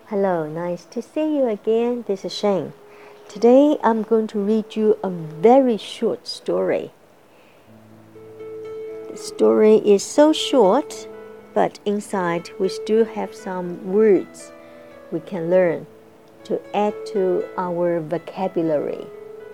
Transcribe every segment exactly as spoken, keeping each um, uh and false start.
Hello, nice to see you again. This is Shane. Today I'm going to read you a very short story. The story is so short, but inside we still have some words we can learn to add to our vocabulary.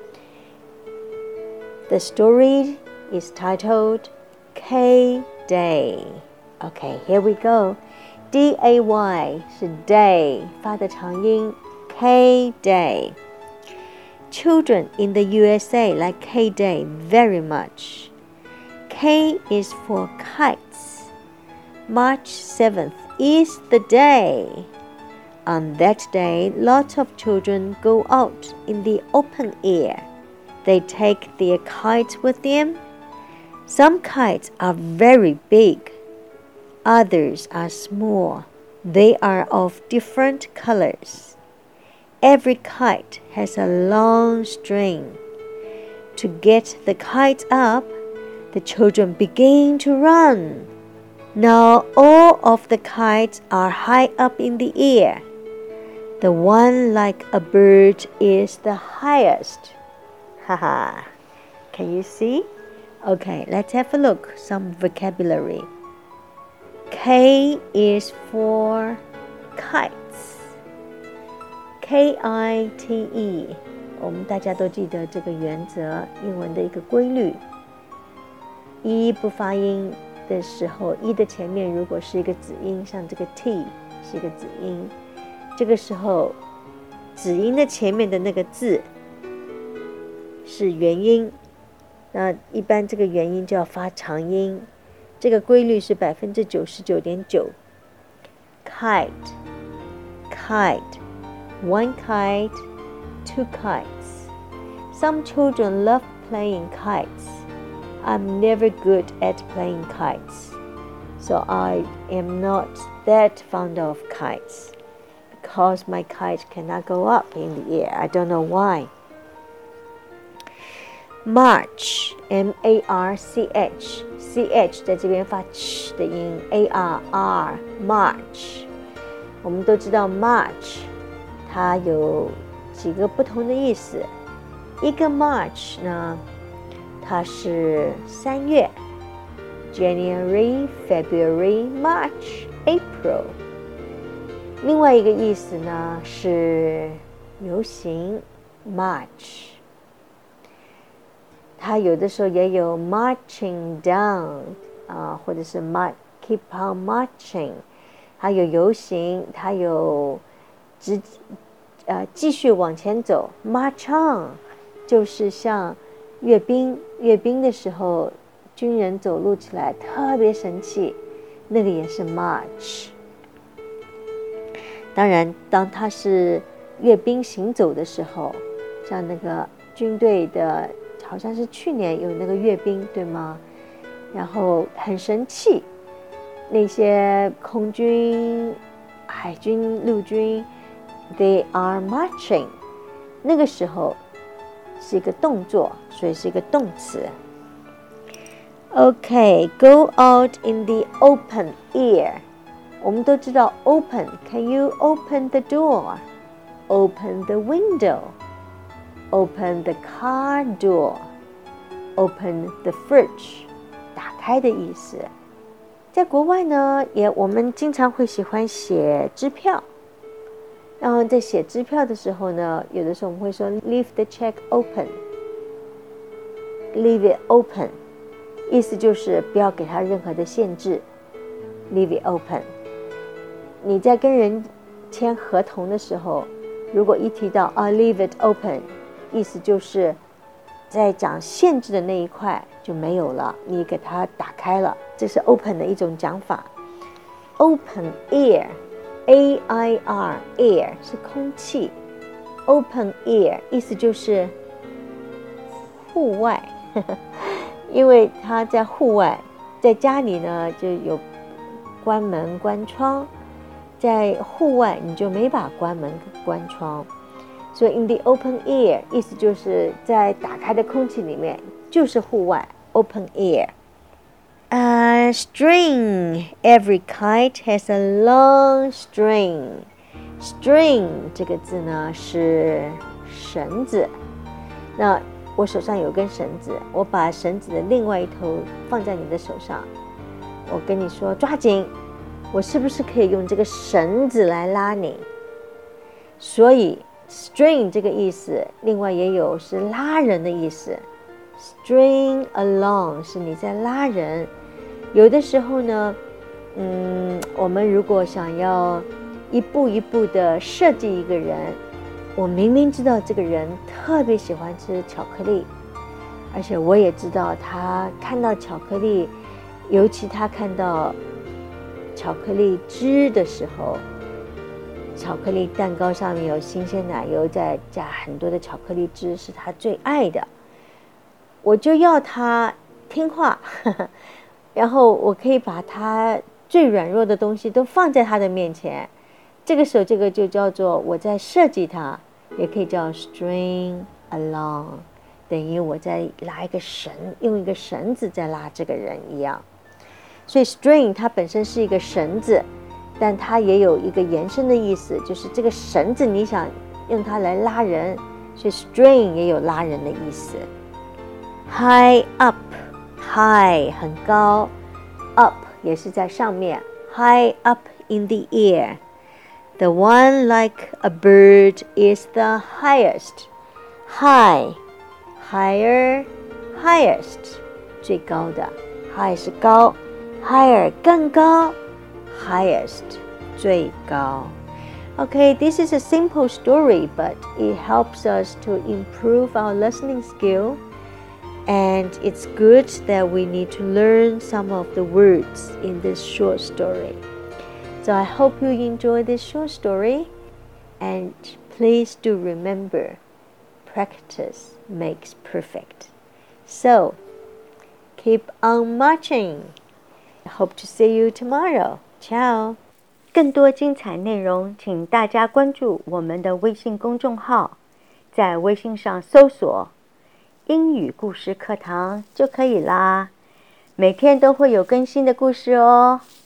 The story is titled K-Day. Okay, here we go. D A Y 是 day 发的长音 K-Day. Children in the U S A like K-Day very much. K is for kites. March seventh is the day. On that day, lots of children go out in the open air. They take their kites with them. Some kites are very big.Others are small. They are of different colors. Every kite has a long string. To get the kite up, the children begin to run. Now all of the kites are high up in the air. The one like a bird is the highest. Haha. Can you see? Okay, let's have a look. Some vocabulary.K is for kites. K I T E 我们大家都记得这个原则，英文的一个规律。一不发音的时候，一的前面如果是一个子音，像这个 T 是一个子音，这个时候子音的前面的那个字是元音，那一般这个元音就要发长音。这个规律是 百分之九十九点九 Kite Kite One kite Two kites Some children love playing kites I'm never good at playing kites So I am not that fond of kites Because my kite cannot go up in the air I don't know why March M A R C H C H 在这边发 ch 的音 A R R March 我们都知道 March 它有几个不同的意思一个 March 呢它是三月 January, February, March, April 另外一个意思呢是游行 March它有的时候也有 marching down 啊、呃，或者是 mar- keep on marching 它有游行它有直呃继续往前走 march on 就是像阅兵阅兵的时候军人走路起来特别神气那个也是 march 当然当它是阅兵行走的时候像那个军队的好像是去年有那个阅兵对吗然后很神气那些空军海军陆军 they are marching 那个时候是一个动作所以是一个动词 OK go out in the open air 我们都知道 open can you open the door open the window Open the car door. Open the fridge. 打开的意思。在国外呢，也我们经常会喜欢写支票。然后在写支票的时候呢，有的时候我们会说 leave the check open. Leave it open. 意思就是不要给它任何的限制。Leave it open. 你在跟人签合同的时候，如果一提到啊 leave it open。意思就是在讲限制的那一块就没有了你给它打开了这是 open 的一种讲法 open air A I R air 是空气 open air 意思就是户外因为它在户外在家里呢就有关门关窗在户外你就没法关门关窗所以 in the open air 意思就是在打开的空气里面就是户外 open air uh, string every kite has a long string String 这个字呢是绳子，那我手上有根绳子，我把绳子的另外一头放在你的手上，我跟你说抓紧，我是不是可以用这个绳子来拉你？所以 string 这个意思另外也有是拉人的意思， string along 是你在拉人。有的时候呢嗯，我们如果想要一步一步的设计一个人，我明明知道这个人特别喜欢吃巧克力，而且我也知道他看到巧克力，尤其他看到巧克力汁的时候，巧克力蛋糕上面有新鲜奶油，再加很多的巧克力汁是他最爱的，我就要他听话呵呵，然后我可以把他最软弱的东西都放在他的面前，这个时候这个就叫做我在设计他，也可以叫 string along， 等于我在拉一个绳，用一个绳子在拉这个人一样。所以 string 它本身是一个绳子，但它也有一个延伸的意思，就是这个绳子你想用它来拉人，所以 string 也有拉人的意思。 High up， high 很高， up 也是在上面， high up in the air， The one like a bird is the highest. High, higher, highest 最高的， high 是高， higher 更高， highest 最高。 Okay, this is a simple story, but it helps us to improve our listening skill, and it's good that we need to learn some of the words in this short story. So I hope you enjoy this short story, and please do remember, practice makes perfect. So keep on marching. I hope to see you tomorrow. Ciao. 更多精彩内容，请大家关注我们的微信公众号，在微信上搜索英语故事课堂就可以啦，每天都会有更新的故事哦。